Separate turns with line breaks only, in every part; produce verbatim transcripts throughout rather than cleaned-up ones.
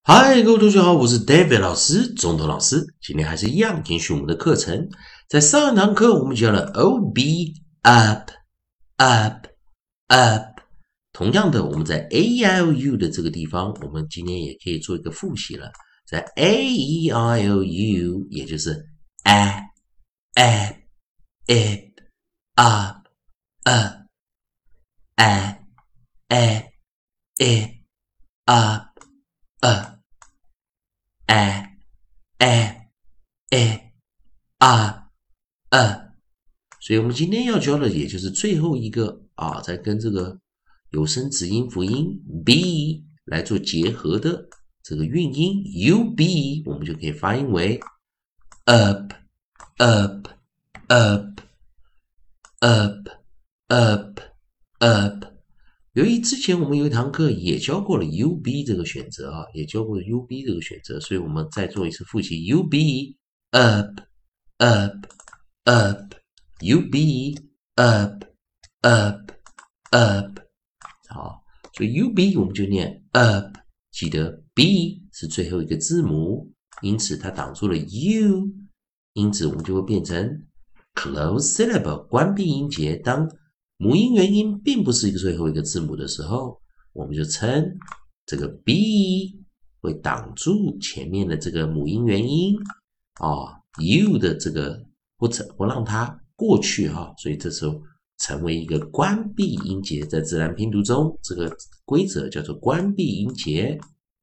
嗨，各位同学好，我是 David 老师，中头老师。今天还是一样继续我们的课程。在上一堂课我们教了 O B up up up，同样的，我们在 A E I O U 的这个地方，我们今天也可以做一个复习了。在 A E I O U， 也就是 a a ip up up a a ip up up a a a a a， 所以我们今天要教的也就是最后一个啊，在跟这个有声子音辅音 b 来做结合的这个韵音 ub， 我们就可以发音为 up up up up up up。由于之前我们有一堂课也教过了 U B 这个选择啊，也教过了 U B 这个选择，所以我们再做一次复习 U B up up up U B up up up。 好，所以 U B 我们就念 up， 记得 B 是最后一个字母，因此它挡住了 U， 因此我们就会变成 close syllable 关闭音节。当母音元音并不是一个最后一个字母的时候，我们就称这个 B 会挡住前面的这个母音元音啊 U 的这个不不让它过去哈、啊，所以这时候成为一个关闭音节。在自然拼读中，这个规则叫做关闭音节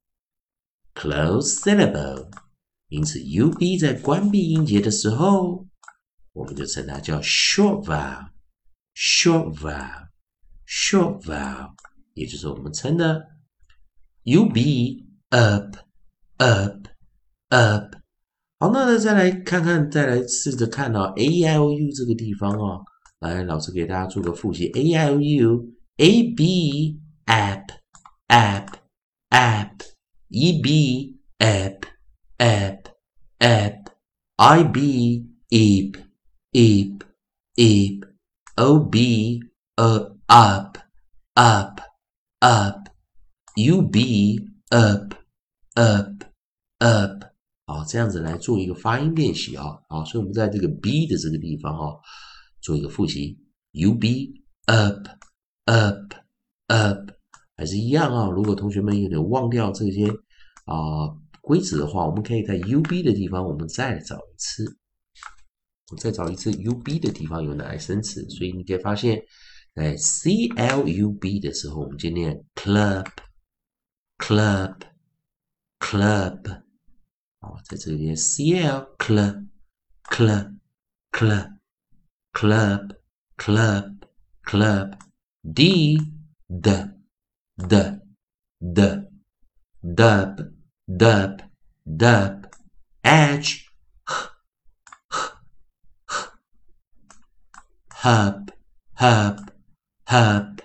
close syllable， 因此 U B 在关闭音节的时候，我们就称它叫 short vowel。short vowel short vowel， 也就是我们称的 U B up up up。 好，那再来看看，再来试着看到 A E I O U 这个地方哦，来，老师给大家做个复习 A E I O U A B app app app E B app app app I B eep eep eep O B uh, up up up U B up up up。 好，这样子来做一个发音练习啊。好，所以我们在这个 B 的这个地方啊，做一个复习 U B up up up， 还是一样啊。如果同学们有点忘掉这些啊规则的话，我们可以在 U B 的地方我们再找一次。我再找一次 U B 的地方有哪些生词，所以你可以发现，在 C L U B 的时候，我们就念 club club club。 好，在这里念 C L club club club club club club D d d d dub dub dub edge hub hub hub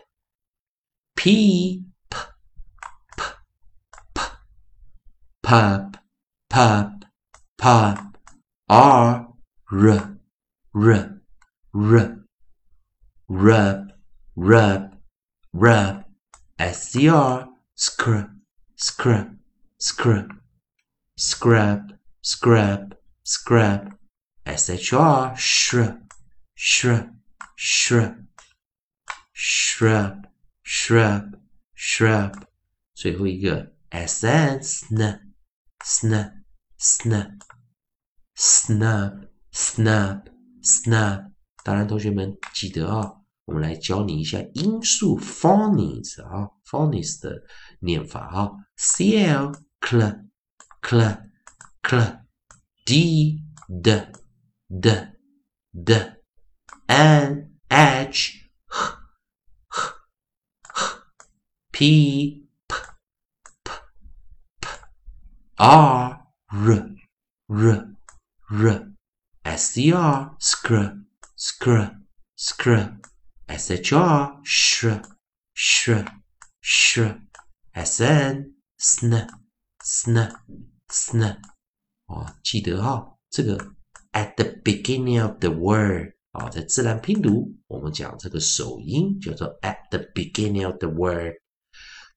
p p p p pub pub pub r r r r rub rub rub scr scrub scrub scrub scrub scrub scrub shr shrub shrub shrub shrub shrub shrub。 最后一个 sn snap snap snap snap snap snap。 当然同学们记得啊，我们来教你一下音素 phonics 啊 phonics 的念法啊 cl cl cl cl d d d d n h h h h p p p p r r r r scr scr scr scr shr shr shr shr sn sn sn sn。 哦，记得哈、哦，这个 at the beginning of the word 啊、哦，在自然拼读我们讲这个首音叫做 at the beginning of the word。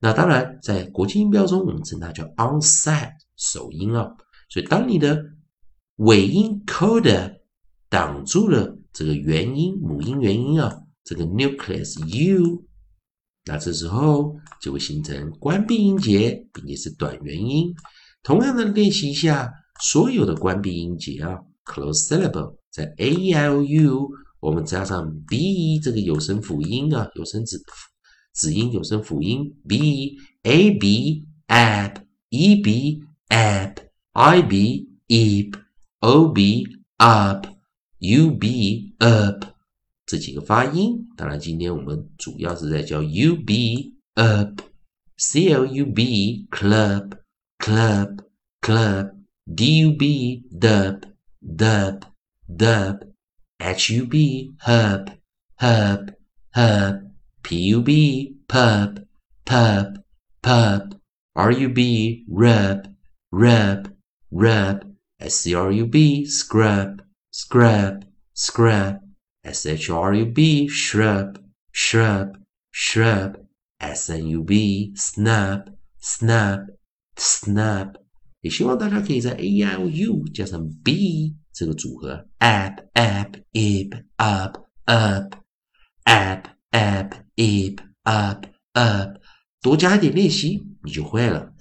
那当然，在国际音标中，我们称它叫 onset 首音啊。所以当你的尾音 coda 挡住了这个元音母音元音啊，这个 nucleus u， 那这时候就会形成关闭音节，并且是短元音。同样的练习一下所有的关闭音节啊 ，close syllable 在 a e i o u， 我们加上 b 这个有声辅音啊，有声子子音有声辅音 b a b ab e b ab i b eb o b up u b up 这几个发音。当然，今天我们主要是在教 u b up c l u b club club club d u b dub dub dub h u b hub hub hub p u b pub pub pub r u b rub rub rub s c r u b scrub scrub scrub s h r u b shrub shrub shrub s n u b snub snub snub。 也希望大家可以在 a e i o u 加上 b 这个组合 ab ab ib up up ab ab ib up up 多加一点练习你就会了。